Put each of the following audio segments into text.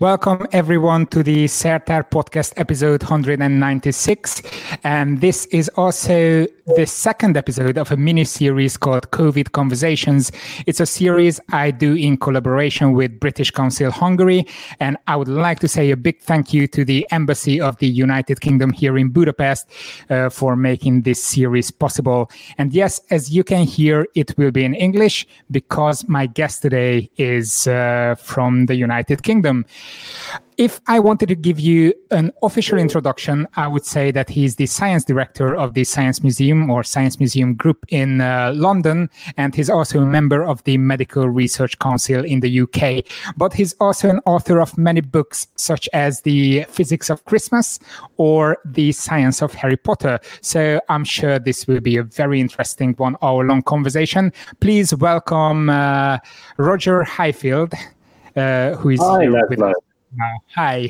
Welcome everyone to the Sertar podcast episode 196. And this is also the second episode of a mini-series called COVID Conversations. It's a series I do in collaboration with British Council Hungary. And I would like to say a big thank you to the Embassy of the United Kingdom here in Budapest for making this series possible. And yes, as you can hear, it will be in English because my guest today is from the United Kingdom. If I wanted to give you an official introduction, I would say that he's the science director of the Science Museum or Science Museum Group in London, and he's also a member of the Medical Research Council in the UK. But he's also an author of many books, such as The Physics of Christmas or The Science of Harry Potter. So I'm sure this will be a very interesting 1 hour long conversation. Please welcome Roger Highfield, who is Hi, here with us. Hi.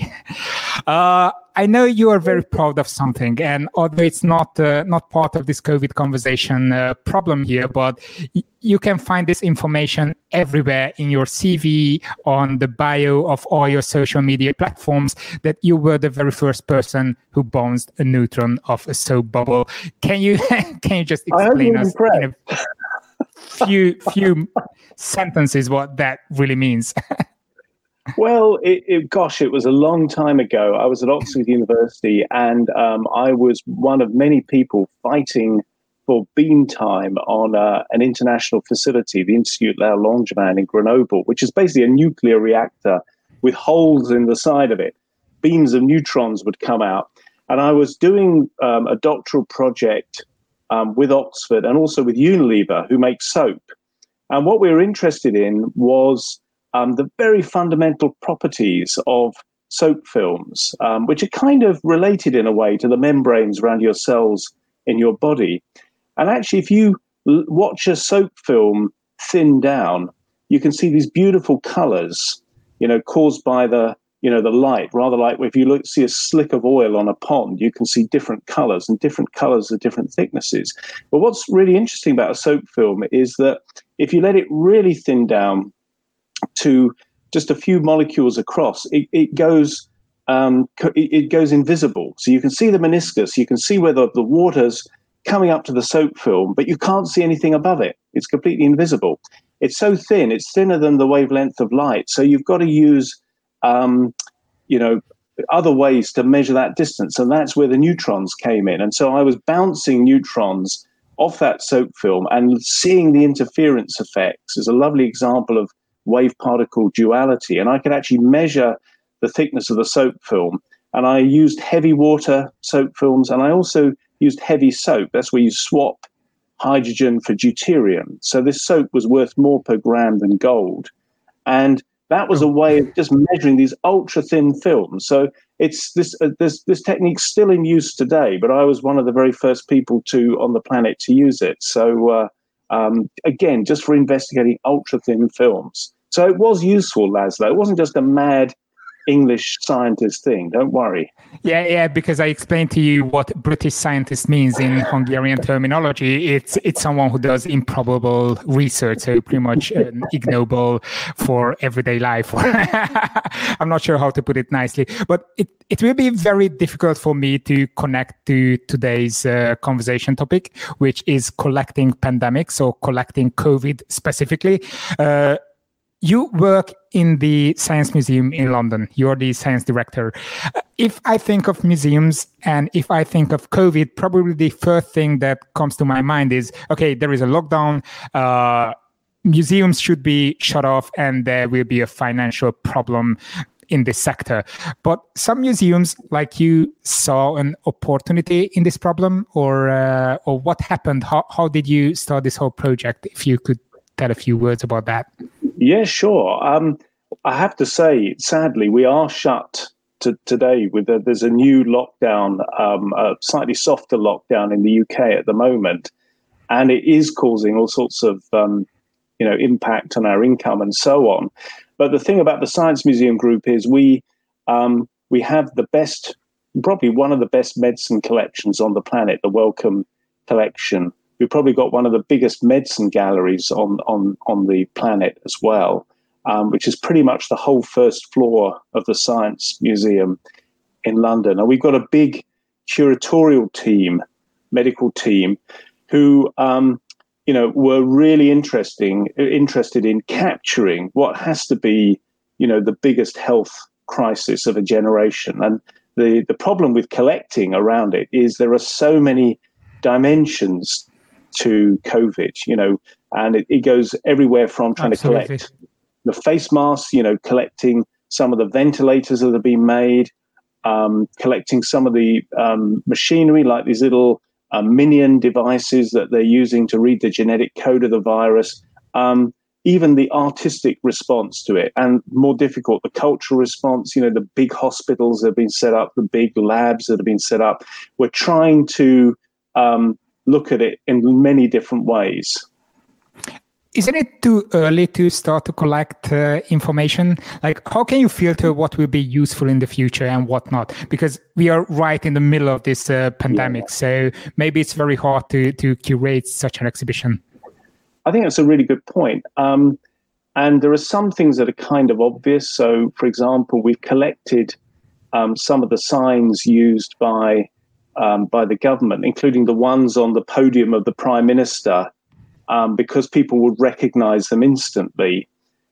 I know you are very proud of something, and although it's not part of this COVID conversation problem here, but you can find this information everywhere in your CV, on the bio of all your social media platforms, that you were the very first person who bounced a neutron off a soap bubble. Can you just explain us in a few sentences what that really means? Well, it was a long time ago. I was at Oxford University, and I was one of many people fighting for beam time on an international facility, the Institut La Langevin in Grenoble, which is basically a nuclear reactor with holes in the side of it. Beams of neutrons would come out. And I was doing a doctoral project with Oxford and also with Unilever, who makes soap. And what we were interested in was the very fundamental properties of soap films, which are kind of related in a way to the membranes around your cells in your body. And actually, if you watch a soap film thin down, you can see these beautiful colors, caused by the light. Rather like if you see a slick of oil on a pond, you can see different colors, and different colors are different thicknesses. But what's really interesting about a soap film is that if you let it really thin down to just a few molecules across, it goes invisible. So you can see the meniscus, you can see where the water's coming up to the soap film, but you can't see anything above it. It's completely invisible. It's so thin, it's thinner than the wavelength of light. So you've got to use, other ways to measure that distance. And that's where the neutrons came in. And so I was bouncing neutrons off that soap film, and seeing the interference effects is a lovely example of wave particle duality. And I could actually measure the thickness of the soap film. And I used heavy water soap films, and I also used heavy soap. That's where you swap hydrogen for deuterium. So this soap was worth more per gram than gold. And that was a way of just measuring these ultra thin films. So it's this technique's still in use today, but I was one of the very first people on the planet to use it. So again, just for investigating ultra thin films. So it was useful, Laszlo. It wasn't just a mad English scientist thing. Don't worry. Yeah, because I explained to you what British scientist means in Hungarian terminology. It's someone who does improbable research, so pretty much ignoble for everyday life. I'm not sure how to put it nicely, but it will be very difficult for me to connect to today's conversation topic, which is collecting pandemics or collecting COVID specifically. You work in the Science Museum in London. You're the science director. If I think of museums and if I think of COVID, probably the first thing that comes to my mind is, okay, there is a lockdown. Museums should be shut off and there will be a financial problem in this sector. But some museums, like you, saw an opportunity in this problem, or what happened? How did you start this whole project? If you could tell a few words about that. Yeah, sure. I have to say, sadly, we are shut today. There's a new lockdown, a slightly softer lockdown in the UK at the moment, and it is causing all sorts of impact on our income and so on. But the thing about the Science Museum Group is we have the best, probably one of the best medicine collections on the planet, the Wellcome Collection. We've probably got one of the biggest medicine galleries on the planet as well. which is pretty much the whole first floor of the Science Museum in London. And we've got a big curatorial team, medical team, who were really interested in capturing what has to be, the biggest health crisis of a generation. And the problem with collecting around it is there are so many dimensions to COVID, and it goes everywhere from trying Absolutely. to collect the face masks, collecting some of the ventilators that have been made, collecting some of the machinery, like these little minion devices that they're using to read the genetic code of the virus, even the artistic response to it, and more difficult, the cultural response, the big hospitals that have been set up, the big labs that have been set up. We're trying to look at it in many different ways. Isn't it too early to start to collect information? Like, how can you filter what will be useful in the future and what not? Because we are right in the middle of this pandemic. Yeah. So maybe it's very hard to curate such an exhibition. I think that's a really good point. And there are some things that are kind of obvious. So, for example, we've collected some of the signs used by the government, including the ones on the podium of the Prime Minister, because people would recognize them instantly.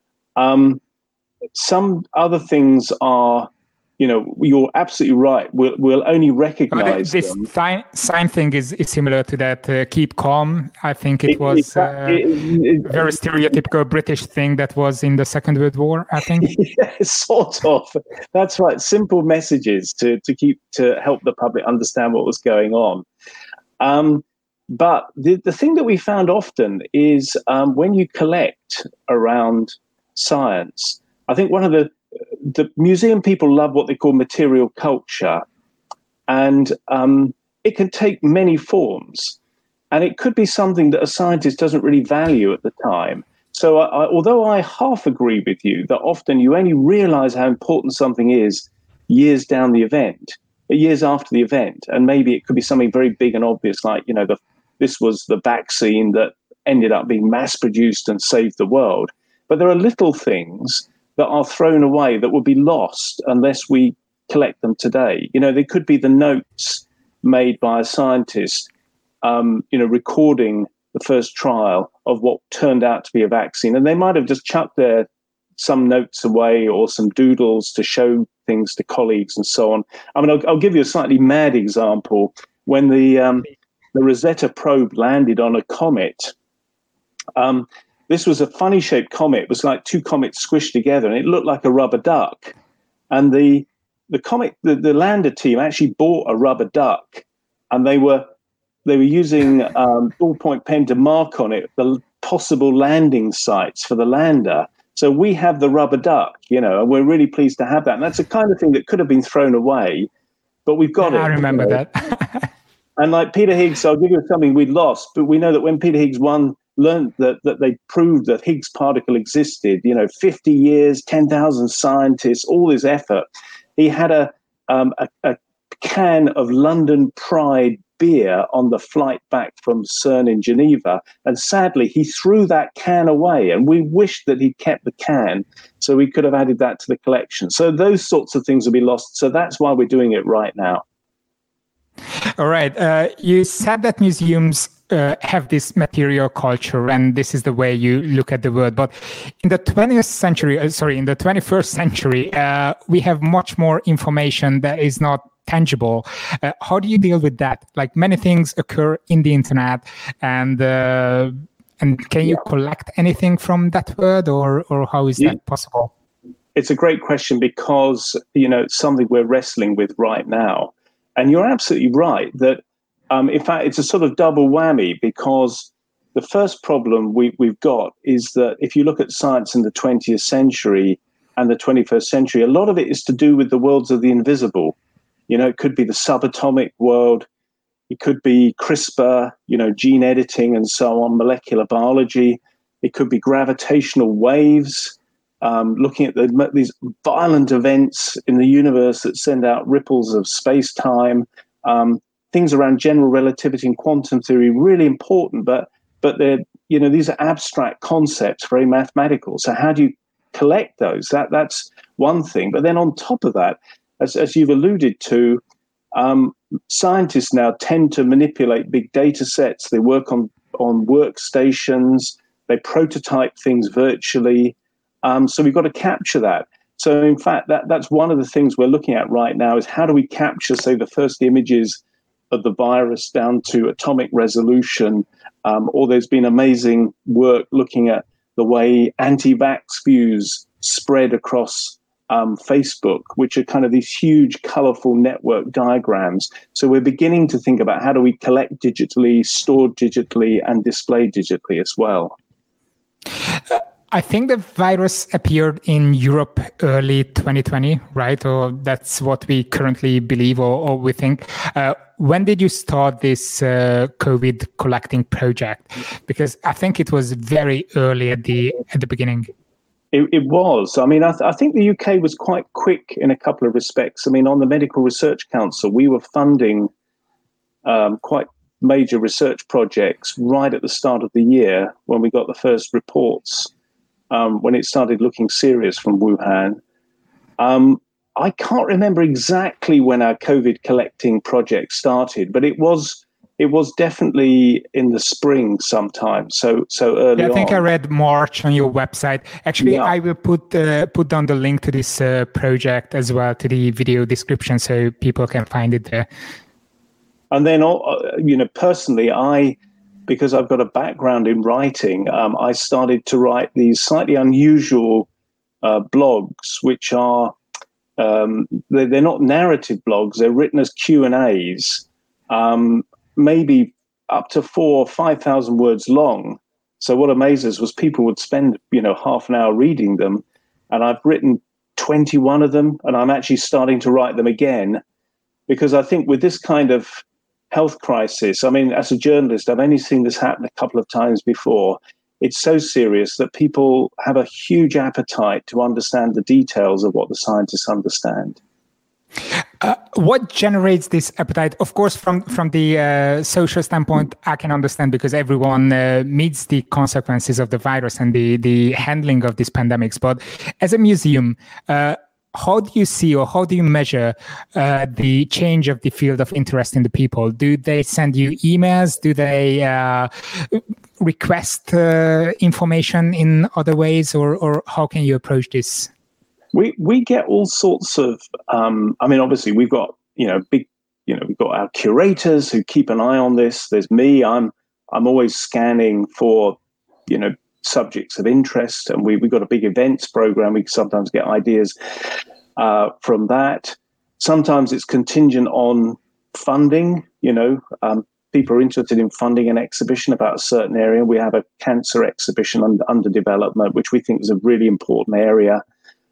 Some other things are, you're absolutely right. We'll only recognize this them. Sign thing is similar to that keep calm. I think it was a very stereotypical British thing that was in the Second World War, I think. Yeah, sort of. That's right. Simple messages to help the public understand what was going on. But the thing that we found often is when you collect around science, I think one of the museum people love what they call material culture, and it can take many forms, and it could be something that a scientist doesn't really value at the time. So although I half agree with you that often you only realize how important something is years down the event, years after the event, and maybe it could be something very big and obvious, like, this was the vaccine that ended up being mass produced and saved the world. But there are little things that are thrown away that will be lost unless we collect them today. They could be the notes made by a scientist, recording the first trial of what turned out to be a vaccine. And they might have just chucked some notes away or some doodles to show things to colleagues and so on. I mean, I'll give you a slightly mad example. When the Rosetta probe landed on a comet, this was a funny-shaped comet. It was like two comets squished together, and it looked like a rubber duck. And the lander team actually bought a rubber duck, and they were using ballpoint pen to mark on it the possible landing sites for the lander. So we have the rubber duck, and we're really pleased to have that. And that's the kind of thing that could have been thrown away, but we've got it. I remember that. And like Peter Higgs, I'll give you something we'd lost, but we know that when Peter Higgs learned that they proved that Higgs particle existed, 50 years, 10,000 scientists, all this effort. He had a can of London Pride beer on the flight back from CERN in Geneva. And sadly, he threw that can away. And we wished that he'd kept the can so we could have added that to the collection. So those sorts of things will be lost. So that's why we're doing it right now. All right. You said that museums have this material culture, and this is the way you look at the world. But in the 21st century, we have much more information that is not tangible. How do you deal with that? Like, many things occur in the internet, and can you collect anything from that world, or how is that possible? It's a great question, because it's something we're wrestling with right now. And you're absolutely right that, in fact, it's a sort of double whammy, because the first problem we've got is that if you look at science in the 20th century and the 21st century, a lot of it is to do with the worlds of the invisible. It could be the subatomic world. It could be CRISPR, gene editing and so on, molecular biology. It could be gravitational waves, looking at these violent events in the universe that send out ripples of space-time, things around general relativity and quantum theory, really important, but they're, these are abstract concepts, very mathematical. So how do you collect those. That's one thing. But then on top of that, as you've alluded to, scientists now tend to manipulate big data sets. They work on workstations. They prototype things virtually. So we've got to capture that. So in fact, that's one of the things we're looking at right now is how do we capture, say, the first images of the virus down to atomic resolution, or there's been amazing work looking at the way anti-vax views spread across Facebook, which are kind of these huge, colorful network diagrams. So we're beginning to think about how do we collect digitally, store digitally, and display digitally as well. I think the virus appeared in Europe early 2020, right? Or that's what we currently believe or we think. When did you start this COVID collecting project? Because I think it was very early at the beginning. It was. I mean, I think the UK was quite quick in a couple of respects. I mean, on the Medical Research Council, we were funding quite major research projects right at the start of the year when we got the first reports. When it started looking serious from Wuhan. I can't remember exactly when our COVID collecting project started, but it was definitely in the spring sometime, so early on. I think I read March on your website. Actually, yeah. I will put down the link to this project as well to the video description so people can find it there. And then, personally, because I've got a background in writing, I started to write these slightly unusual blogs, which are, they're not narrative blogs, they're written as Q&As, maybe up to 4,000 or 5,000 words long. So what amazes was people would spend, half an hour reading them, and I've written 21 of them, and I'm actually starting to write them again, because I think with this kind of health crisis, I mean, as a journalist, I've only seen this happen a couple of times before. It's so serious that people have a huge appetite to understand the details of what the scientists understand. What generates this appetite? Of course, from the social standpoint, I can understand because everyone meets the consequences of the virus and the handling of these pandemics. But as a museum, how do you see or how do you measure the change of the field of interest in the people? Do they send you emails? Do they request information in other ways, or how can you approach this? We get all sorts of. Obviously, we've got we've got our curators who keep an eye on this. There's me. I'm always scanning for subjects of interest, and we've got a big events program. We sometimes get ideas from that. Sometimes it's contingent on funding. People are interested in funding an exhibition about a certain area. We have a cancer exhibition under development, which we think is a really important area.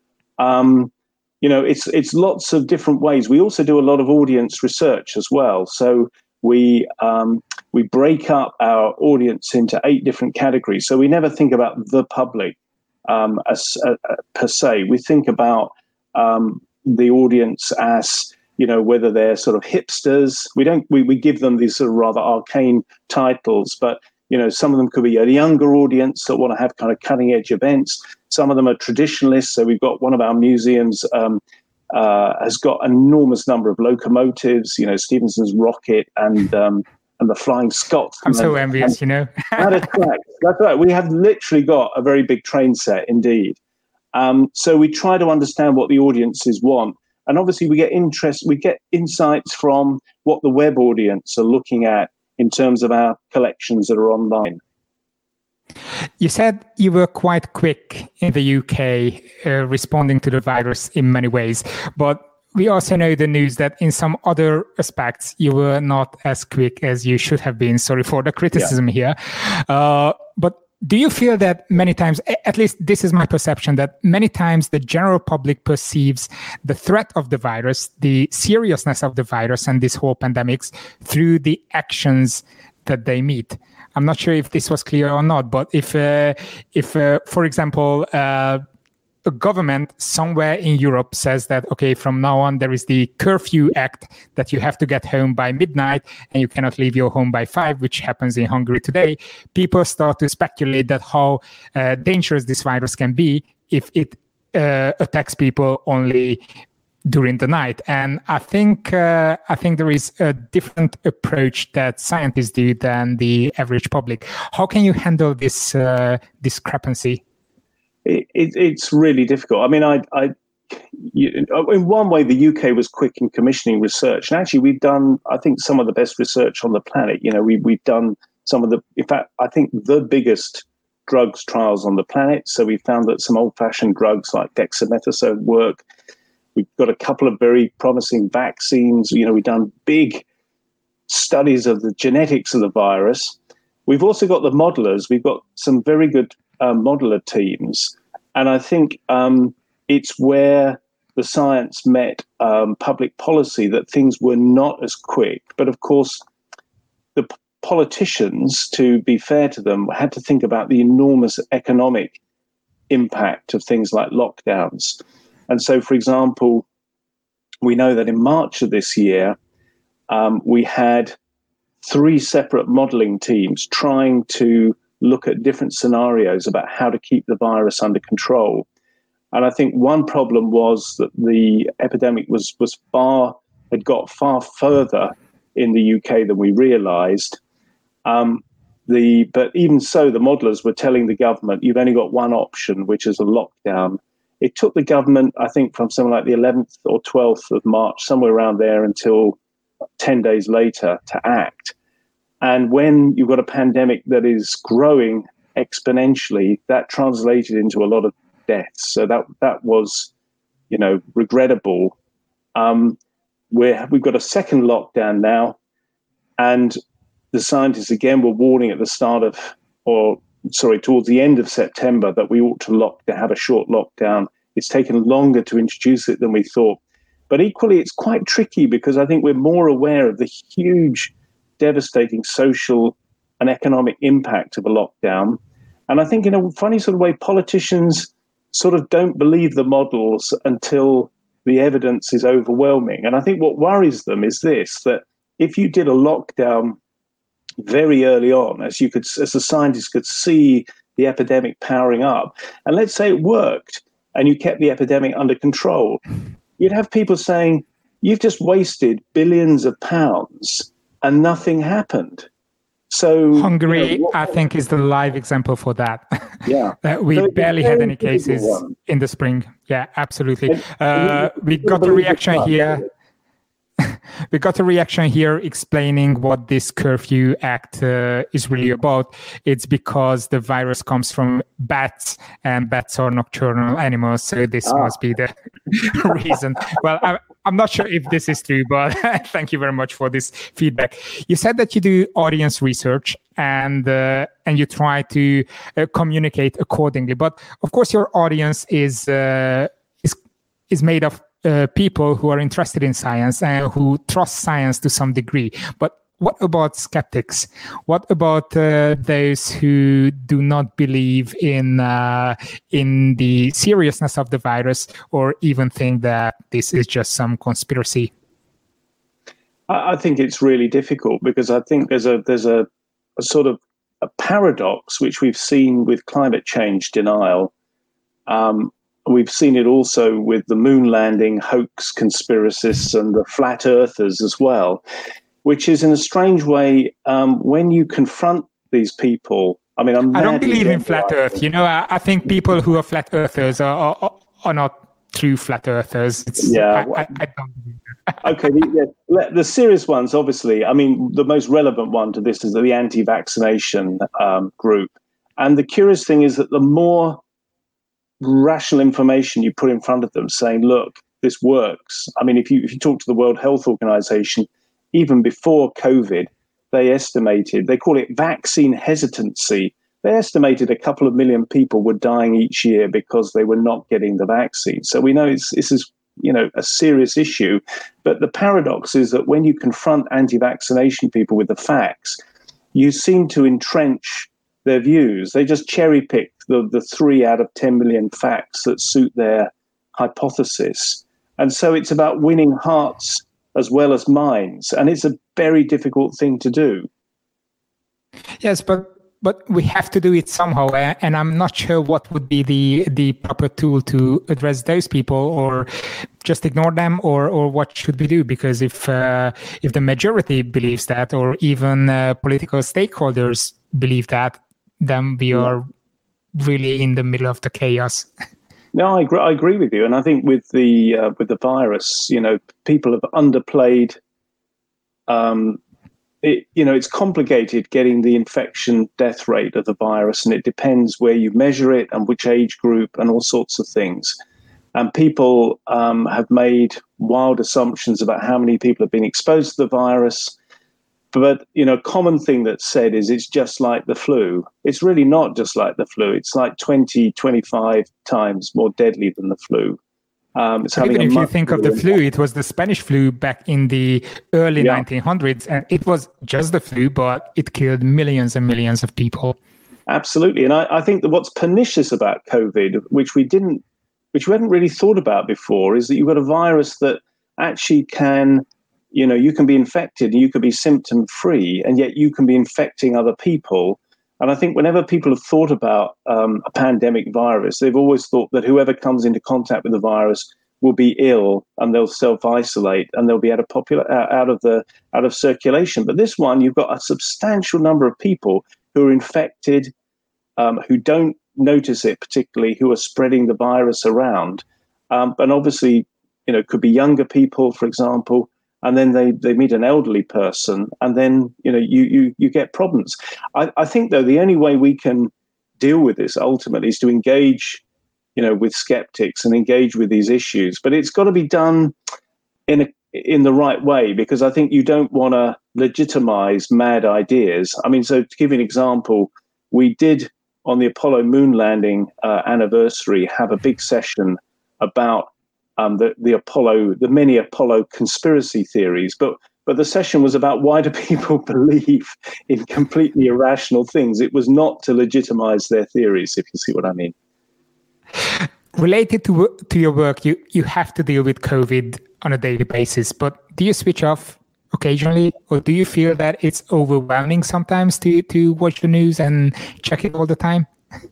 It's lots of different ways. We also do a lot of audience research as well. So we break up our audience into 8 different categories. So we never think about the public as per se. We think about the audience as whether they're sort of hipsters. We give them these sort of rather arcane titles, but some of them could be a younger audience that want to have kind of cutting edge events. Some of them are traditionalists. So we've got one of our museums has got an enormous number of locomotives, Stephenson's rocket and the Flying Scots. I'm so envious, That's right. We have literally got a very big train set indeed. So we try to understand what the audiences want. And obviously we get insights from what the web audience are looking at in terms of our collections that are online. You said you were quite quick in the UK responding to the virus in many ways, but we also know the news that in some other aspects you were not as quick as you should have been. Sorry for the criticism here. But do you feel that many times, at least this is my perception, that many times the general public perceives the threat of the virus, the seriousness of the virus and this whole pandemics through the actions that they meet? I'm not sure if this was clear or not, but if for example, a a government somewhere in Europe says that, okay, from now on, there is the curfew act that you have to get home by midnight and you cannot leave your home by 5, which happens in Hungary today, people start to speculate that how dangerous this virus can be if it attacks people only during the night. And I think there is a different approach that scientists do than the average public. How can you handle this discrepancy? It's really difficult. I mean, in one way, the UK was quick in commissioning research, and actually, we've done, I think, some of the best research on the planet. You know, we've done some of the, in fact, I think the biggest drugs trials on the planet. So we found that some old-fashioned drugs like dexamethasone work. We've got a couple of very promising vaccines. You know, we've done big studies of the genetics of the virus. We've also got the modelers. We've got some very good modeler teams. And I think it's where the science met public policy that things were not as quick. But of course, the politicians, to be fair to them, had to think about the enormous economic impact of things like lockdowns. And so, for example, we know that in March of this year, we had 3 separate modelling teams trying to look at different scenarios about how to keep the virus under control. And I think one problem was that the epidemic had got far further in the UK than we realised. But even so, the modellers were telling the government, you've only got one option, which is a lockdown. It took the government, I think, from something like the 11th or 12th of March, somewhere around there, until 10 days later to act. And when you've got a pandemic that is growing exponentially, that translated into a lot of deaths. So that was, you know, regrettable. We've got a second lockdown now, and the scientists again were warning at the towards the end of September that we ought to have a short lockdown. It's taken longer to introduce it than we thought. But equally, it's quite tricky because I think we're more aware of the huge, devastating social and economic impact of a lockdown. And I think in a funny sort of way, politicians sort of don't believe the models until the evidence is overwhelming. And I think what worries them is this, that if you did a lockdown very early on, as the scientists could see the epidemic powering up, and let's say it worked and you kept the epidemic under control, you'd have people saying, you've just wasted billions of pounds and nothing happened. So Hungary, I think, is the live example for that. Yeah. We barely had any cases in the spring. Yeah, absolutely. We got a reaction here. We got a reaction here explaining what this curfew act is really about. It's because the virus comes from bats, and bats are nocturnal animals, so this must be the reason. Well, I'm not sure if this is true, but thank you very much for this feedback. You said that you do audience research and you try to communicate accordingly, but of course your audience is made of people who are interested in science and who trust science to some degree. But what about skeptics? What about those who do not believe in the seriousness of the virus, or even think that this is just some conspiracy? I think it's really difficult because I think there's a sort of a paradox which we've seen with climate change denial. We've seen it also with the moon landing hoax conspiracists and the flat earthers as well, which is in a strange way, when you confront these people, I mean, I don't believe in flat earth. You know, I think people who are flat earthers are not true flat earthers. I don't believe that. Okay, the serious ones, obviously, I mean, the most relevant one to this is the anti-vaccination group. And the curious thing is that the more rational information you put in front of them saying, look, this works. I mean, if you talk to the World Health Organization, even before COVID, they call it vaccine hesitancy. They estimated a couple of million people were dying each year because they were not getting the vaccine. So we know this is, you know, a serious issue. But the paradox is that when you confront anti-vaccination people with the facts, you seem to entrench their views. They just cherry pick the 3 out of 10 million facts that suit their hypothesis. And so it's about winning hearts as well as minds. And it's a very difficult thing to do. Yes, but we have to do it somehow, and I'm not sure what would be the proper tool to address those people, or just ignore them, or what should we do? Because if the majority believes that, or even political stakeholders believe that, then we are really in the middle of the chaos. No, I agree with you, and I think with the virus, people have underplayed. It's complicated getting the infection death rate of the virus, and it depends where you measure it and which age group and all sorts of things. And people have made wild assumptions about how many people have been exposed to the virus. But, a common thing that's said is it's just like the flu. It's really not just like the flu. It's like 20, 25 times more deadly than the flu. Even if you think of the flu, it was the Spanish flu back in the early 1900s, and it was just the flu, but it killed millions and millions of people. Absolutely. And I think that what's pernicious about COVID, which we hadn't really thought about before, is that you've got a virus that actually can, you can be infected and you can be symptom free, and yet you can be infecting other people. And I think whenever people have thought about a pandemic virus, they've always thought that whoever comes into contact with the virus will be ill and they'll self-isolate and they'll be out of circulation. But this one, you've got a substantial number of people who are infected, who don't notice it particularly, who are spreading the virus around. And obviously, could be younger people, for example. And then they meet an elderly person, and then you get problems. I think though the only way we can deal with this ultimately is to engage, with skeptics and engage with these issues. But it's got to be done in the right way, because I think you don't want to legitimize mad ideas. I mean, so to give you an example, we did on the Apollo moon landing anniversary have a big session about the many Apollo conspiracy theories, but the session was about why do people believe in completely irrational things. It was not to legitimize their theories, if you see what I mean. Related to your work, you have to deal with COVID on a daily basis, but do you switch off occasionally, or do you feel that it's overwhelming sometimes to watch the news and check it all the time?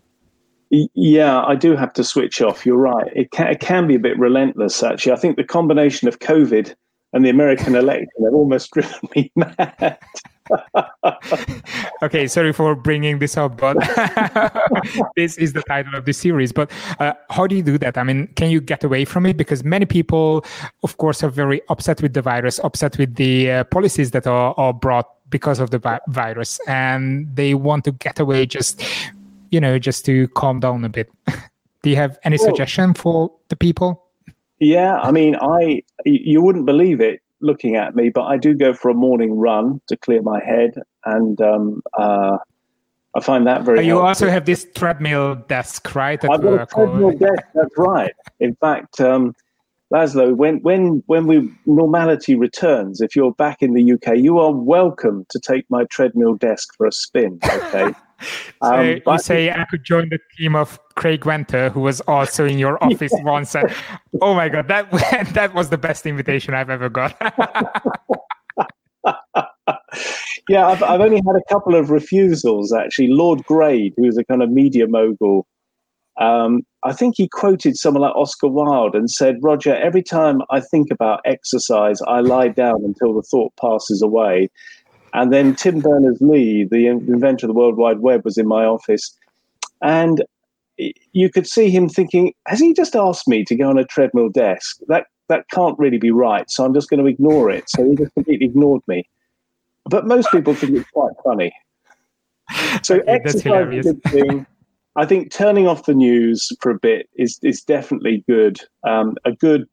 Yeah, I do have to switch off. You're right. It can be a bit relentless, actually. I think the combination of COVID and the American election have almost driven me mad. Okay, sorry for bringing this up, but this is the title of the series. But how do you do that? I mean, can you get away from it? Because many people, of course, are very upset with the virus, upset with the policies that are brought because of the virus, and they want to get away just to calm down a bit. Do you have any suggestion for the people? Yeah, I mean, you wouldn't believe it looking at me, but I do go for a morning run to clear my head, and I find that very You helpful. also have this treadmill desk, right? I've got a treadmill desk, that's right. In fact, Laszlo, when normality returns, if you're back in the UK, you are welcome to take my treadmill desk for a spin, okay? So you say I could join the team of Craig Venter, who was also in your office once. And, oh my God, that was the best invitation I've ever got. Yeah, I've only had a couple of refusals, actually. Lord Grade, who's a kind of media mogul, I think he quoted someone like Oscar Wilde and said, Roger, every time I think about exercise, I lie down until the thought passes away. And then Tim Berners-Lee, the inventor of the World Wide Web, was in my office. And you could see him thinking, has he just asked me to go on a treadmill desk? That can't really be right, so I'm just going to ignore it. So he just completely ignored me. But most people think it's quite funny. So okay, exercise is a good thing. I think turning off the news for a bit is definitely good. A good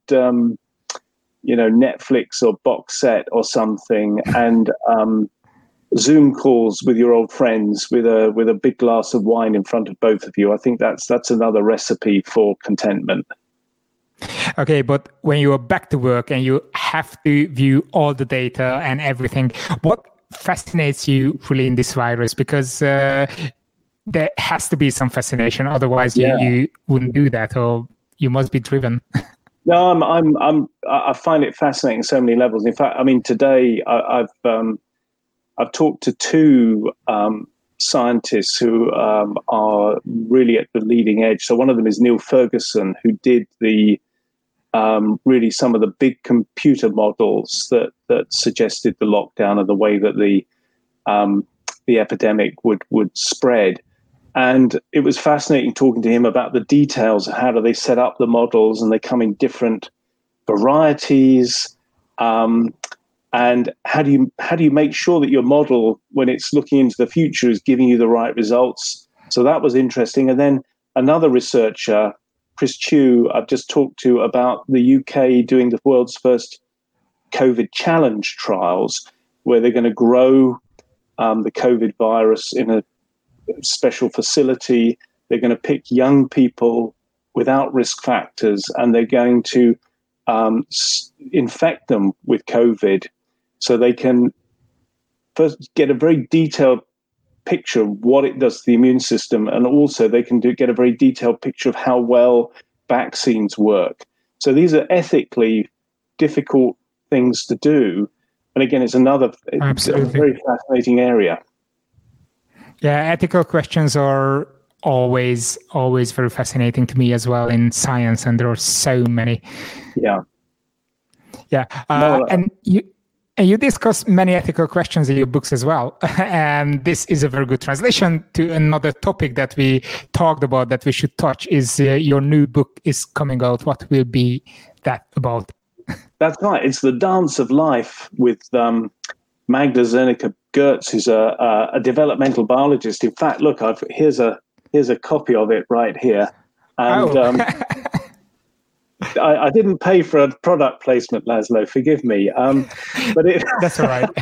Netflix or box set or something, and Zoom calls with your old friends with a big glass of wine in front of both of you. I think that's another recipe for contentment. Okay, but when you are back to work and you have to view all the data and everything, what fascinates you really in this virus? Because there has to be some fascination. Otherwise, you wouldn't do that, or you must be driven. No, I find it fascinating on so many levels. In fact, I mean, today I've talked to two scientists who are really at the leading edge. So one of them is Neil Ferguson, who did the really some of the big computer models that suggested the lockdown and the way that the epidemic would spread. And it was fascinating talking to him about the details of how do they set up the models, and they come in different varieties. And how do you make sure that your model, when it's looking into the future, is giving you the right results? So that was interesting. And then another researcher, Chris Chu, I've just talked to about the UK doing the world's first COVID challenge trials, where they're going to grow the COVID virus in a special facility. They're going to pick young people without risk factors, and they're going to infect them with COVID, so they can first get a very detailed picture of what it does to the immune system, and also they can get a very detailed picture of how well vaccines work. So these are ethically difficult things to do, and again, it's a very fascinating area. Yeah, ethical questions are always very fascinating to me as well in science, and there are so many. And you discuss many ethical questions in your books as well. And this is a very good translation to another topic that we talked about that we should touch. Is your new book is coming out. What will be that about? That's right. It's The Dance of Life with Magda Zernicka-Goetz, who's a developmental biologist. In fact, look, here's a copy of it right here. And I didn't pay for a product placement, Laszlo. Forgive me. But that's all right.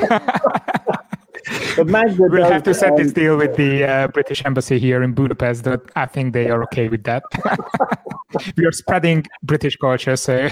But Magda we'll have to set this deal with the British Embassy here in Budapest. But I think they are okay with that. We are spreading British culture, so.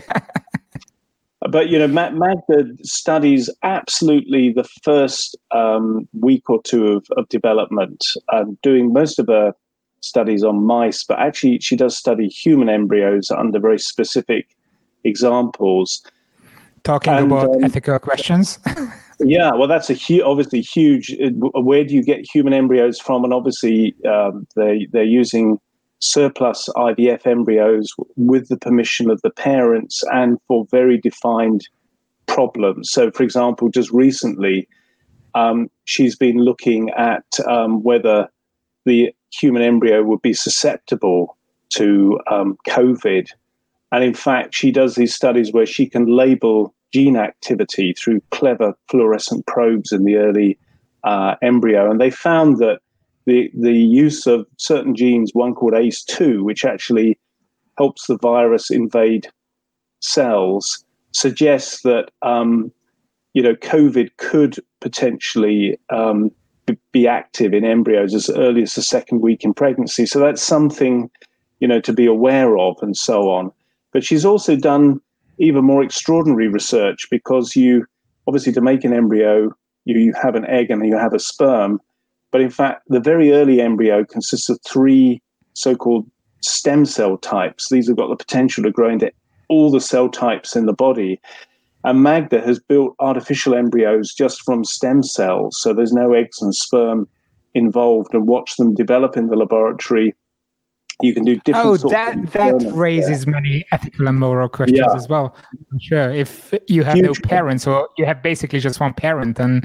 But, Magda studies absolutely the first week or two of development, doing most of her studies on mice, but actually she does study human embryos under very specific examples. Talking about ethical questions. Yeah, well, that's obviously huge. Where do you get human embryos from? And obviously they're using surplus IVF embryos with the permission of the parents and for very defined problems. So, for example, just recently, she's been looking at whether the human embryo would be susceptible to COVID. And in fact, she does these studies where she can label gene activity through clever fluorescent probes in the early embryo. And they found that the use of certain genes, one called ACE2, which actually helps the virus invade cells, suggests that COVID could potentially be active in embryos as early as the second week in pregnancy. So that's something, to be aware of and so on. But she's also done even more extraordinary research, because you obviously, to make an embryo, you have an egg and you have a sperm. But in fact, the very early embryo consists of 3 so-called stem cell types. These have got the potential to grow into all the cell types in the body. And Magda has built artificial embryos just from stem cells. So there's no eggs and sperm involved, and watch them develop in the laboratory. You can do different sorts of that raises many ethical and moral questions as well. I'm sure if you have no parents, or you have basically just one parent, and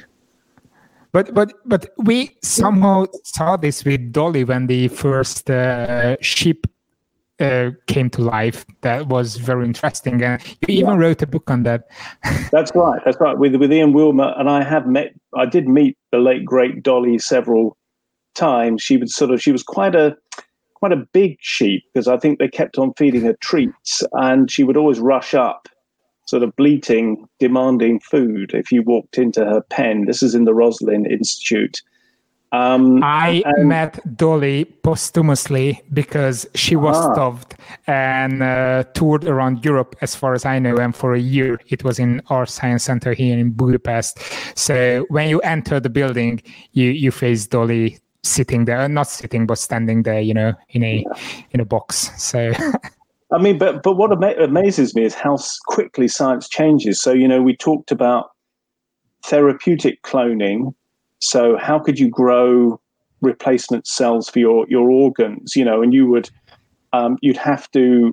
but we somehow saw this with Dolly when the first sheep came to life. That was very interesting, and you even wrote a book on that. That's right. With Ian Wilmer, and I did meet the late great Dolly several times. She was quite a big sheep, because I think they kept on feeding her treats, and she would always rush up, sort of bleating, demanding food if you walked into her pen. This is in the Roslin Institute. I met Dolly posthumously because she was stuffed and toured around Europe, as far as I know, and for a year it was in our science center here in Budapest. So when you enter the building, you face Dolly sitting there, not sitting, but standing there, in a box. So, I mean, but what amazes me is how quickly science changes. So, we talked about therapeutic cloning. So, how could you grow replacement cells for your organs? And you would you'd have to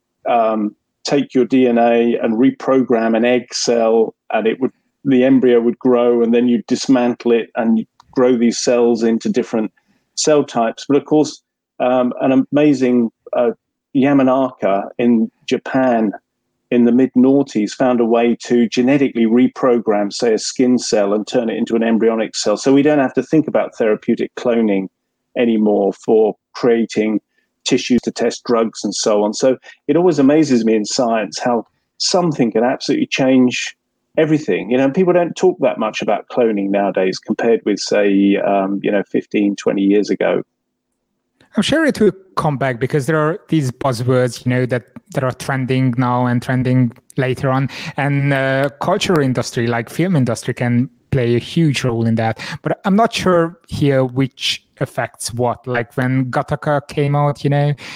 take your DNA and reprogram an egg cell, and the embryo would grow, and then you'd dismantle it and grow these cells into different cell types. But of course, an amazing Yamanaka in Japan in the mid-noughties found a way to genetically reprogram, say, a skin cell and turn it into an embryonic cell. So we don't have to think about therapeutic cloning anymore for creating tissues to test drugs and so on. So it always amazes me in science how something can absolutely change everything. People don't talk that much about cloning nowadays compared with, say, 15, 20 years ago. I'm sure it will come back because there are these buzzwords, that are trending now and trending later on. And cultural industry, like film industry, can play a huge role in that. But I'm not sure here which affects what. Like when Gattaca came out,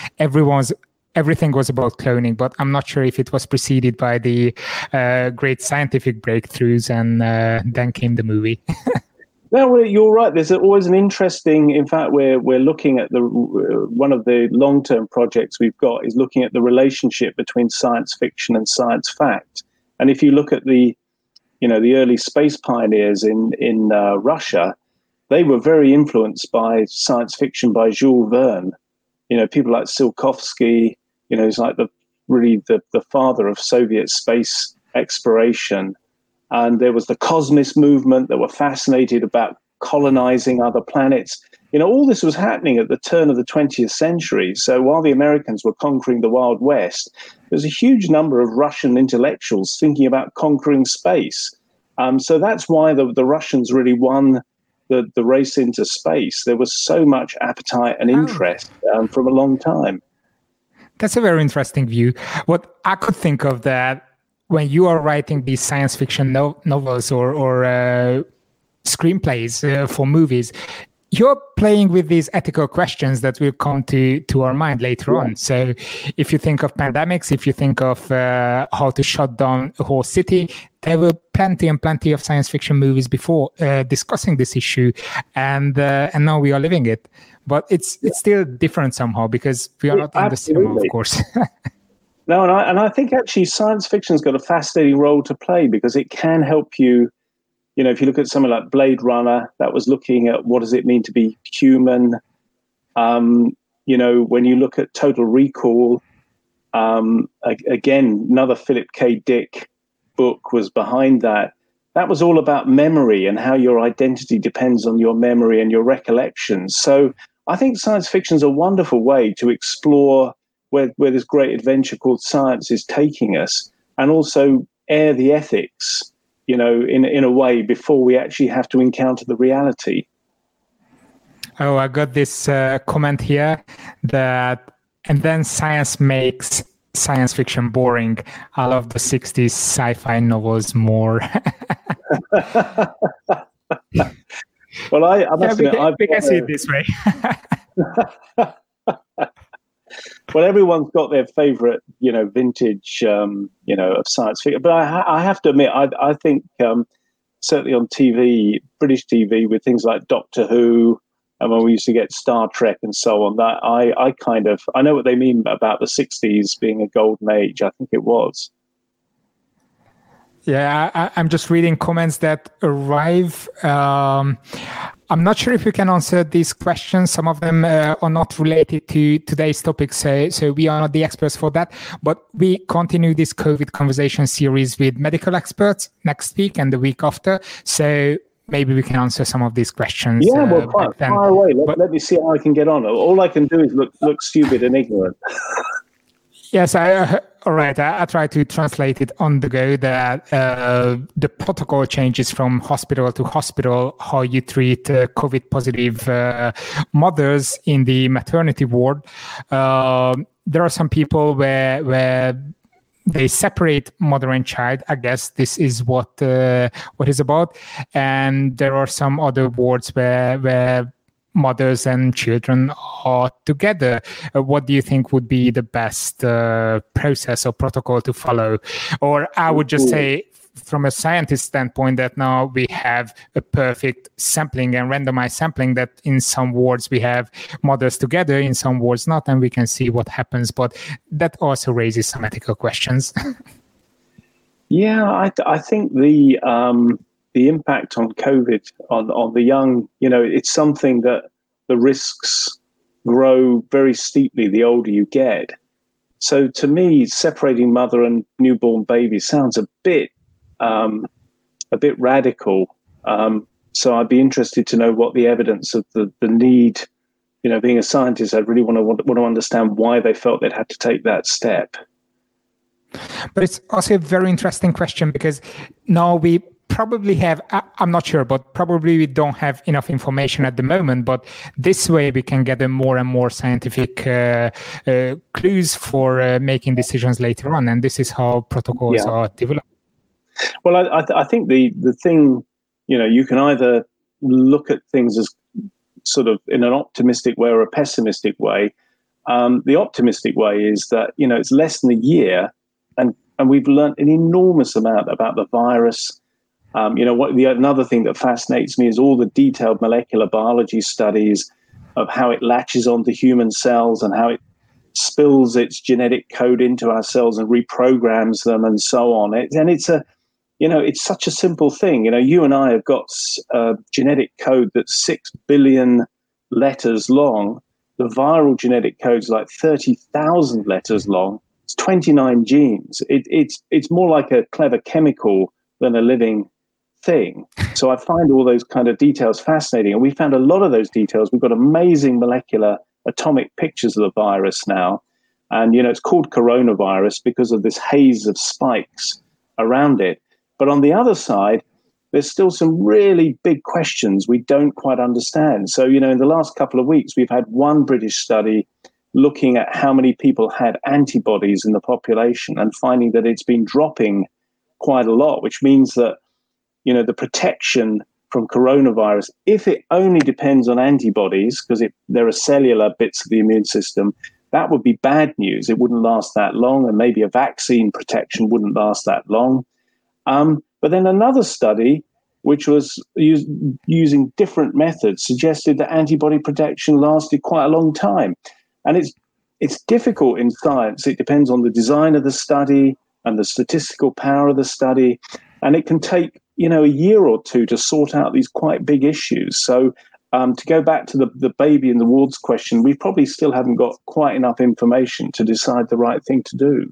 everything was about cloning, but I'm not sure if it was preceded by the great scientific breakthroughs, and then came the movie. No, well, you're right. There's always an interesting. In fact, we're looking at one of the long-term projects we've got is looking at the relationship between science fiction and science fact. And if you look at the early space pioneers in Russia, they were very influenced by science fiction by Jules Verne. People like Tsiolkovsky. He's like the father of Soviet space exploration. And there was the Cosmos movement that were fascinated about colonizing other planets. All this was happening at the turn of the 20th century. So while the Americans were conquering the Wild West, there's a huge number of Russian intellectuals thinking about conquering space. So that's why the Russians really won the race into space. There was so much appetite and interest from a long time. That's a very interesting view. What I could think of that, when you are writing these science fiction novels or screenplays for movies, you're playing with these ethical questions that will come to our mind later on. So if you think of pandemics, if you think of how to shut down a whole city, there were plenty and plenty of science fiction movies before discussing this issue, and now we are living it. But it's still different somehow because we are not in the cinema, of course. No, and I think actually science fiction's got a fascinating role to play because it can help you. If you look at something like Blade Runner, that was looking at what does it mean to be human. When you look at Total Recall, again, another Philip K. Dick book was behind that. That was all about memory and how your identity depends on your memory and your recollections. So I think science fiction is a wonderful way to explore where this great adventure called science is taking us, and also air the ethics, in a way before we actually have to encounter the reality. Oh, I got this comment here and then science makes science fiction boring. I love the 60s sci-fi novels more. Well, I must admit, we can see it this way. Well, everyone's got their favorite, vintage, of science fiction. But I have to admit, I think certainly on TV, British TV, with things like Doctor Who, and when we used to get Star Trek and so on, that I know what they mean about the 60s being a golden age. I think it was. Yeah, I'm just reading comments that arrive. I'm not sure if we can answer these questions. Some of them are not related to today's topic, so we are not the experts for that. But we continue this COVID conversation series with medical experts next week and the week after. So maybe we can answer some of these questions. Yeah, well, fire away. Let me see how I can get on. All I can do is look stupid and ignorant. Yes, all right. I try to translate it on the go that the protocol changes from hospital to hospital, how you treat COVID positive mothers in the maternity ward. There are some people where they separate mother and child. I guess this is what is about. And there are some other wards where mothers and children are together. What do you think would be the best process or protocol to follow? Or I would just say, from a scientist standpoint, that now we have a perfect sampling and randomized sampling, that in some wards we have mothers together, in some wards not, and we can see what happens. But that also raises some ethical questions. Yeah, I think the impact on COVID on the young, it's something that the risks grow very steeply the older you get. So to me, separating mother and newborn baby sounds a bit radical. So I'd be interested to know what the evidence of the need, being a scientist, I really want to understand why they felt they'd had to take that step. But it's also a very interesting question, because now we probably have, I'm not sure, but probably we don't have enough information at the moment. But this way we can gather more and more scientific clues for making decisions later on. And this is how protocols are developed. Well, I think the thing, you can either look at things as sort of in an optimistic way or a pessimistic way. The optimistic way is that, it's less than a year and we've learned an enormous amount about the virus. Another thing that fascinates me is all the detailed molecular biology studies of how it latches onto human cells and how it spills its genetic code into our cells and reprograms them and so on. It's such a simple thing. You and I have got a genetic code that's 6 billion letters long. The viral genetic code is like 30,000 letters long. It's 29 genes. It's more like a clever chemical than a living thing. So I find all those kind of details fascinating. And we found a lot of those details. We've got amazing molecular atomic pictures of the virus now. And, it's called coronavirus because of this haze of spikes around it. But on the other side, there's still some really big questions we don't quite understand. So, in the last couple of weeks, we've had one British study looking at how many people had antibodies in the population and finding that it's been dropping quite a lot, which means that, the protection from coronavirus, if it only depends on antibodies, because there are cellular bits of the immune system, that would be bad news. It wouldn't last that long, and maybe a vaccine protection wouldn't last that long. But then another study, which was using different methods, suggested that antibody protection lasted quite a long time. And it's difficult in science. It depends on the design of the study and the statistical power of the study. And it can take, a year or two to sort out these quite big issues. So to go back to the baby in the wards question, we probably still haven't got quite enough information to decide the right thing to do.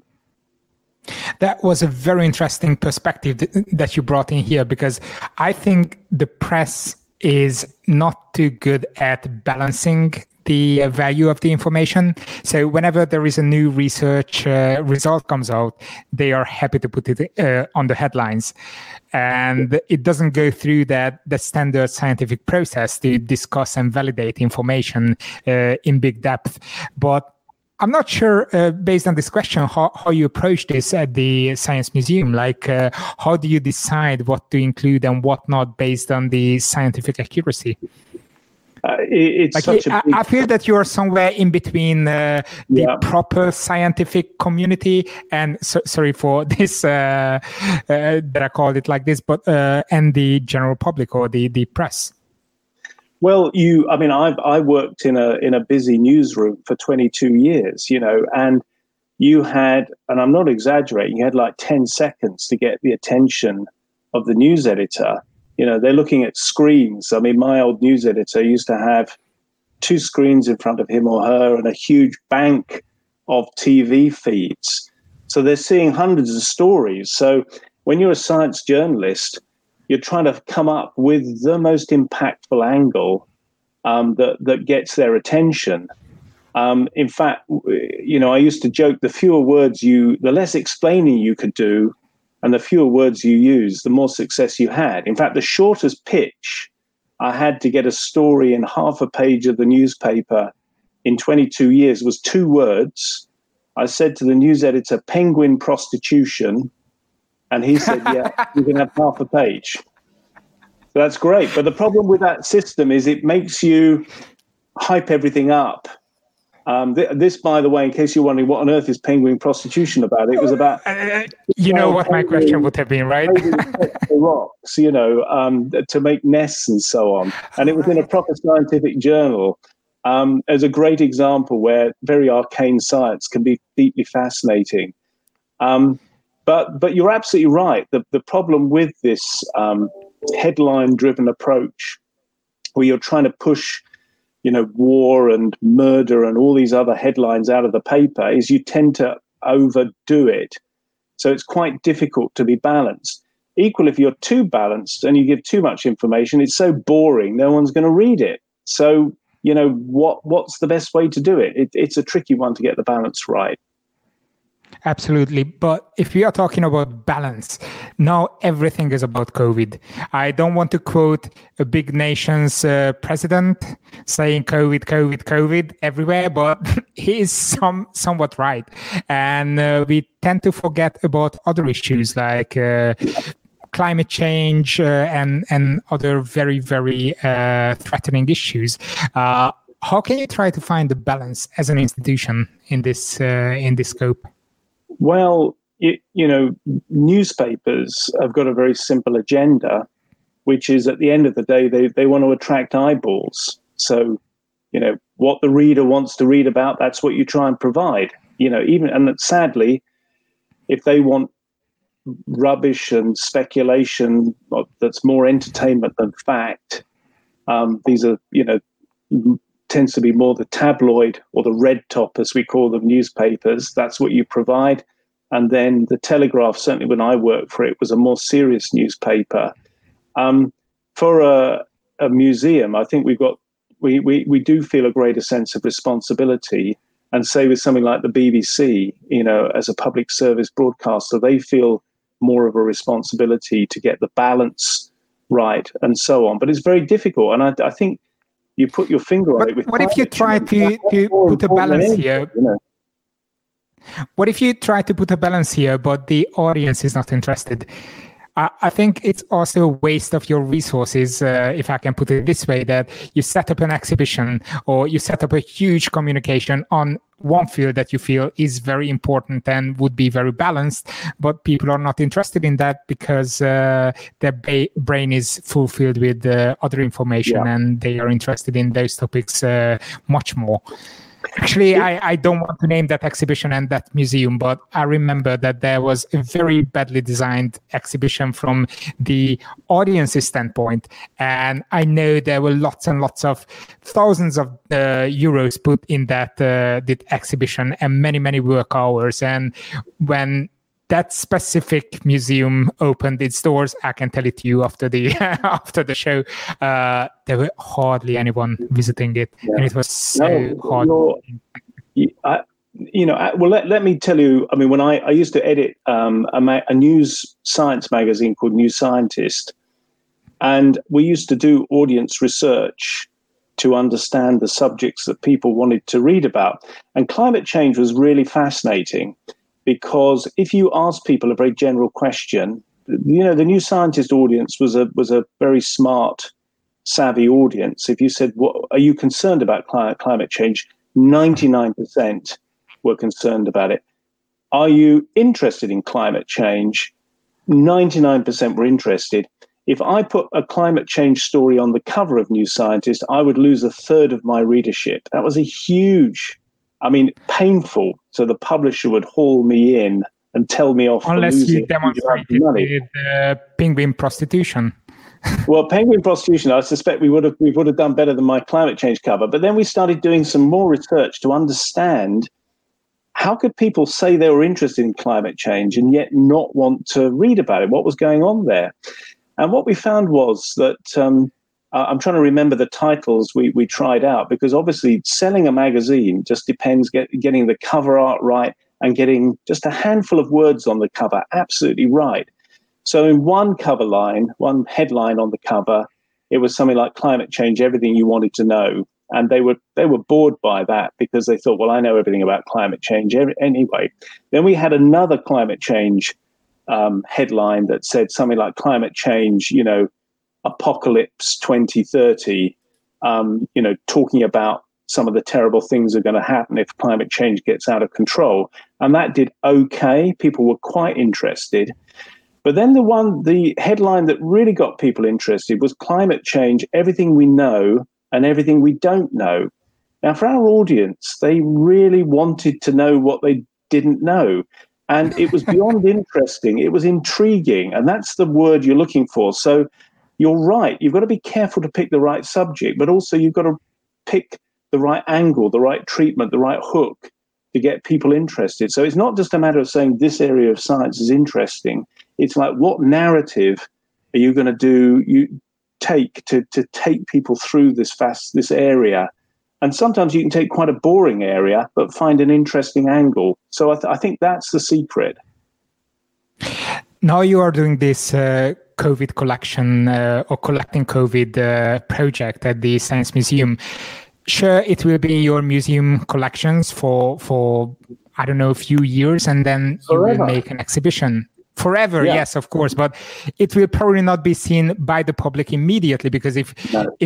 That was a very interesting perspective that you brought in here, because I think the press is not too good at balancing the value of the information. So whenever there is a new research result comes out, they are happy to put it on the headlines. And it doesn't go through the standard scientific process to discuss and validate information in big depth. But I'm not sure, based on this question, how you approach this at the Science Museum. Like, how do you decide what to include and what not based on the scientific accuracy? I feel that you are somewhere in between the proper scientific community and sorry for this that I called it like this, but and the general public or the press. Well, I worked in a busy newsroom for 22 years, and you had, and I'm not exaggerating, you had like 10 seconds to get the attention of the news editor. They're looking at screens. My old news editor used to have 2 screens in front of him or her and a huge bank of TV feeds. So they're seeing hundreds of stories. So when you're a science journalist, you're trying to come up with the most impactful angle that gets their attention. In fact, I used to joke, the less explaining you could do and the fewer words you use, the more success you had. In fact, the shortest pitch I had to get a story in half a page of the newspaper in 22 years was 2 words. I said to the news editor, penguin prostitution. And he said, yeah, you can have half a page. So that's great. But the problem with that system is it makes you hype everything up. This, by the way, in case you're wondering, what on earth is penguin prostitution about? It was about you know what my question would have been, right? Rocks, to make nests and so on, and it was in a proper scientific journal. As a great example where very arcane science can be deeply fascinating. But you're absolutely right. The problem with this headline-driven approach, where you're trying to push, war and murder and all these other headlines out of the paper, is you tend to overdo it. So it's quite difficult to be balanced. Equally, if you're too balanced and you give too much information, it's so boring, no one's going to read it. So, what's the best way to do it? It's a tricky one to get the balance right. Absolutely. But if we are talking about balance, now everything is about COVID. I don't want to quote a big nation's president saying COVID everywhere, but he is somewhat right. And we tend to forget about other issues like climate change and other very, very threatening issues. How can you try to find the balance as an institution in this scope? Well, newspapers have got a very simple agenda, which is at the end of the day, they want to attract eyeballs. So, what the reader wants to read about, that's what you try and provide. And sadly, if they want rubbish and speculation that's more entertainment than fact, these are, tends to be more the tabloid or the red top, as we call them, newspapers. That's what you provide. And then the Telegraph, certainly when I worked for it, was a more serious newspaper. For a museum, I think we do feel a greater sense of responsibility. And say with something like the BBC, as a public service broadcaster, they feel more of a responsibility to get the balance right and so on. But it's very difficult. And I think you put your finger on it. What if you try to put a balance here? What if you try to put a balance here, but the audience is not interested? I think it's also a waste of your resources, if I can put it this way, that you set up an exhibition or you set up a huge communication on one field that you feel is very important and would be very balanced, but people are not interested in that because their brain is fulfilled with other information and they are interested in those topics much more. Actually, I don't want to name that exhibition and that museum, but I remember that there was a very badly designed exhibition from the audience's standpoint. And I know there were lots and lots of thousands of euros put in that exhibition and many, many work hours. And when that specific museum opened its doors, I can tell it to you after the show, there were hardly anyone visiting it, and it was so hard. Let me tell you. I mean, when I used to edit a news science magazine called New Scientist, and we used to do audience research to understand the subjects that people wanted to read about, and climate change was really fascinating. Because if you ask people a very general question, the New Scientist audience was a very smart, savvy audience. If you said, "What are you concerned about climate change?" 99% were concerned about it. Are you interested in climate change? 99% were interested. If I put a climate change story on the cover of New Scientist, I would lose a third of my readership. That was a huge, painful. So the publisher would haul me in and tell me off. Unless you demonstrated with penguin prostitution. Well, penguin prostitution, I suspect we would have done better than my climate change cover. But then we started doing some more research to understand how could people say they were interested in climate change and yet not want to read about it? What was going on there? And what we found was that I'm trying to remember the titles we tried out, because obviously selling a magazine just depends getting the cover art right and getting just a handful of words on the cover absolutely right. So in one headline on the cover, it was something like climate change, everything you wanted to know. And they were bored by that because they thought, well, I know everything about climate change anyway. Then we had another climate change headline that said something like climate change, Apocalypse 2030, talking about some of the terrible things are going to happen if climate change gets out of control. And that did okay. People were quite interested. But then the headline that really got people interested was climate change, everything we know and everything we don't know. Now, for our audience, they really wanted to know what they didn't know. And it was beyond interesting. It was intriguing. And that's the word you're looking for. So you're right. You've got to be careful to pick the right subject, but also you've got to pick the right angle, the right treatment, the right hook to get people interested. So it's not just a matter of saying this area of science is interesting. It's like, what narrative are you going to take to take people through this area? And sometimes you can take quite a boring area, but find an interesting angle. So I think that's the secret. Now you are doing this COVID collection or collecting COVID project at the Science Museum. Sure, it will be in your museum collections for I don't know, a few years, and then forever. You will make an exhibition. Forever, yeah. Yes, of course, but it will probably not be seen by the public immediately, because if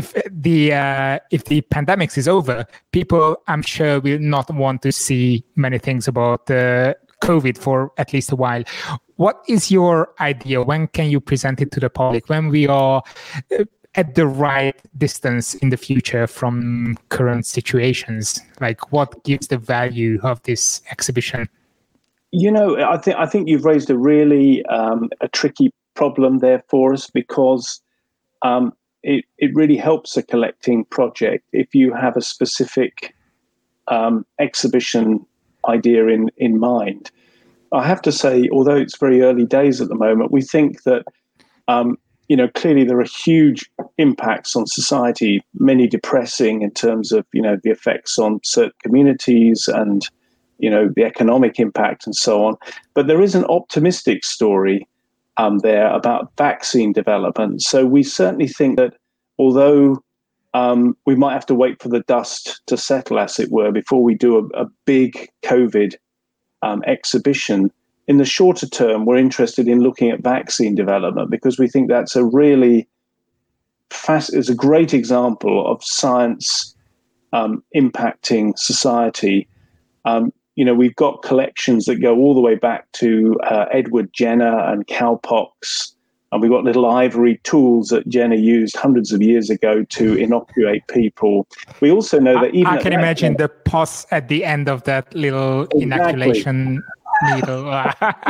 the pandemic is over, people, I'm sure, will not want to see many things about COVID for at least a while. What is your idea? When can you present it to the public? When we are at the right distance in the future from current situations? Like, what gives the value of this exhibition? You know, I think you've raised a really a tricky problem there for us, because it really helps a collecting project if you have a specific exhibition idea in mind. I have to say, although it's very early days at the moment, we think that clearly there are huge impacts on society, many depressing in terms of the effects on certain communities and the economic impact and so on. But there is an optimistic story there about vaccine development. So we certainly think that although we might have to wait for the dust to settle, as it were, before we do a big COVID exhibition, in the shorter term, we're interested in looking at vaccine development, because we think that's a really is a great example of science impacting society. We've got collections that go all the way back to Edward Jenner and cowpox, and we've got little ivory tools that Jenner used hundreds of years ago to inoculate people. We also know that even I can imagine the pus at the end of that little inoculation needle.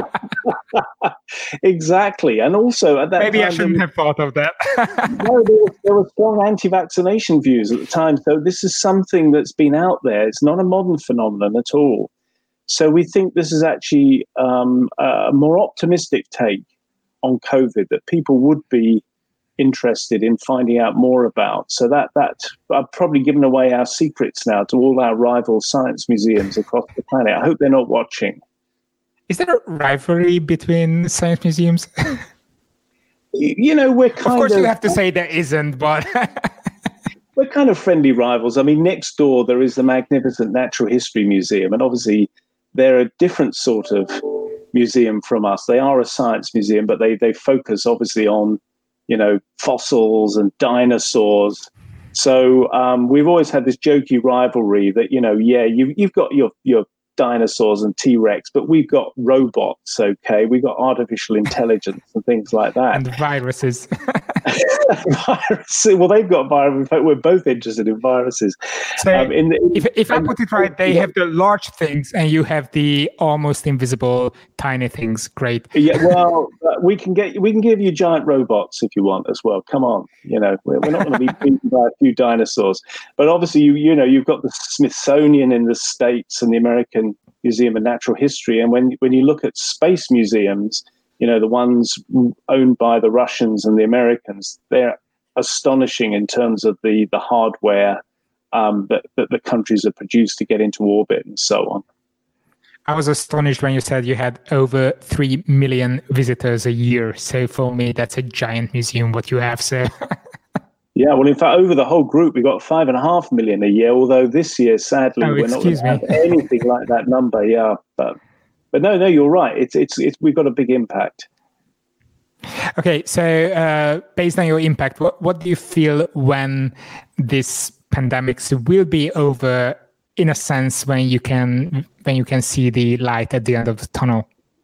Exactly. And also at that maybe time, I shouldn't have thought of that. No, there were strong anti-vaccination views at the time. So this is something that's been out there. It's not a modern phenomenon at all. So we think this is actually a more optimistic take on COVID that people would be interested in finding out more about. So that I've probably given away our secrets now to all our rival science museums across the planet. I hope they're not watching. Is there a rivalry between science museums? We're kind of... Of course, you have to say there isn't, but... We're kind of friendly rivals. I mean, next door, there is the magnificent Natural History Museum, and obviously they're a different sort of museum from us. They are a science museum, but they focus obviously on, fossils and dinosaurs. So we've always had this jokey rivalry that, you've got your dinosaurs and T-Rex, but we've got robots, okay? We've got artificial intelligence and things like that. And viruses. Well, they've got viruses. In fact, we're both interested in viruses. So if I put it right, they have the large things and you have the almost invisible tiny things. Great. Yeah, well, we can give you giant robots if you want as well. Come on, we're not going to be beaten by a few dinosaurs. But obviously, you've got the Smithsonian in the States and the American Museum of Natural History, and when you look at space museums, the ones owned by the Russians and the Americans, they're astonishing in terms of the hardware that the countries have produced to get into orbit and so on. I was astonished when you said you had over 3 million visitors a year. So for me, that's a giant museum, what you have. So yeah, well, in fact, over the whole group, we got 5.5 million a year, although this year, sadly, we're not going to have anything like that number. Yeah, But no, you're right. It's we've got a big impact. Okay, so based on your impact, what do you feel when this pandemics will be over, in a sense, when you can see the light at the end of the tunnel?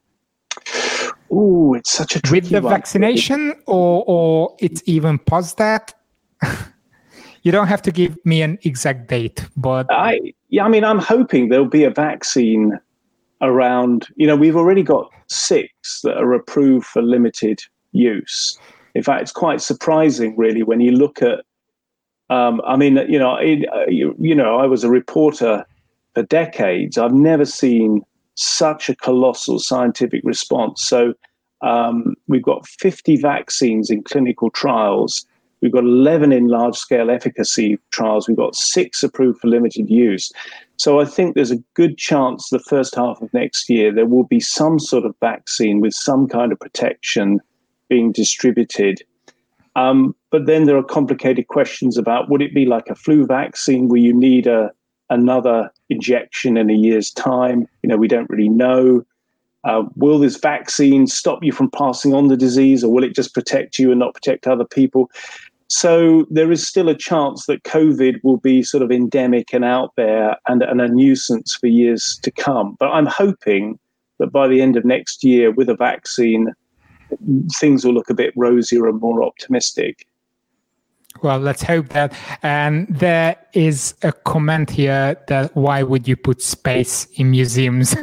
Oh, it's such a tricky with the one. Vaccination, or it's even past that? You don't have to give me an exact date, but I'm hoping there'll be a vaccine around. We've already got 6 that are approved for limited use. In fact, it's quite surprising, really, when you look at. I was a reporter for decades. I've never seen such a colossal scientific response. So we've got 50 vaccines in clinical trials. We've got 11 in large-scale efficacy trials. We've got 6 approved for limited use. So I think there's a good chance the first half of next year there will be some sort of vaccine with some kind of protection being distributed. But then there are complicated questions about, would it be like a flu vaccine where you need another injection in a year's time? We don't really know. Will this vaccine stop you from passing on the disease, or will it just protect you and not protect other people? So there is still a chance that COVID will be sort of endemic and out there and a nuisance for years to come. But I'm hoping that by the end of next year, with a vaccine, things will look a bit rosier and more optimistic. Well, let's hope that. And there is a comment here that why would you put space in museums?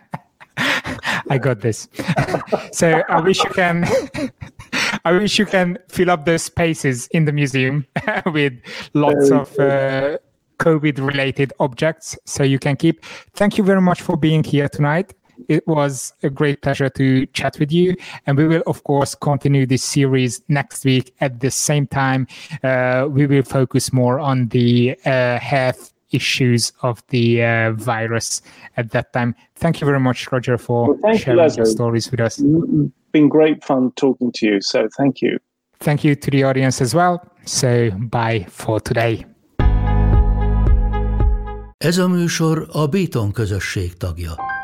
I got this. So I wish you can fill up those spaces in the museum with lots of COVID-related objects, so you can keep. Thank you very much for being here tonight. It was a great pleasure to chat with you, and we will, of course, continue this series next week at the same time. We will focus more on the health issues of the virus at that time. Thank you very much, Roger, for sharing your stories with us. It's been great fun talking to you, so thank you. Thank you to the audience as well. So bye for today. Ez a műsor a Béton közösség tagja.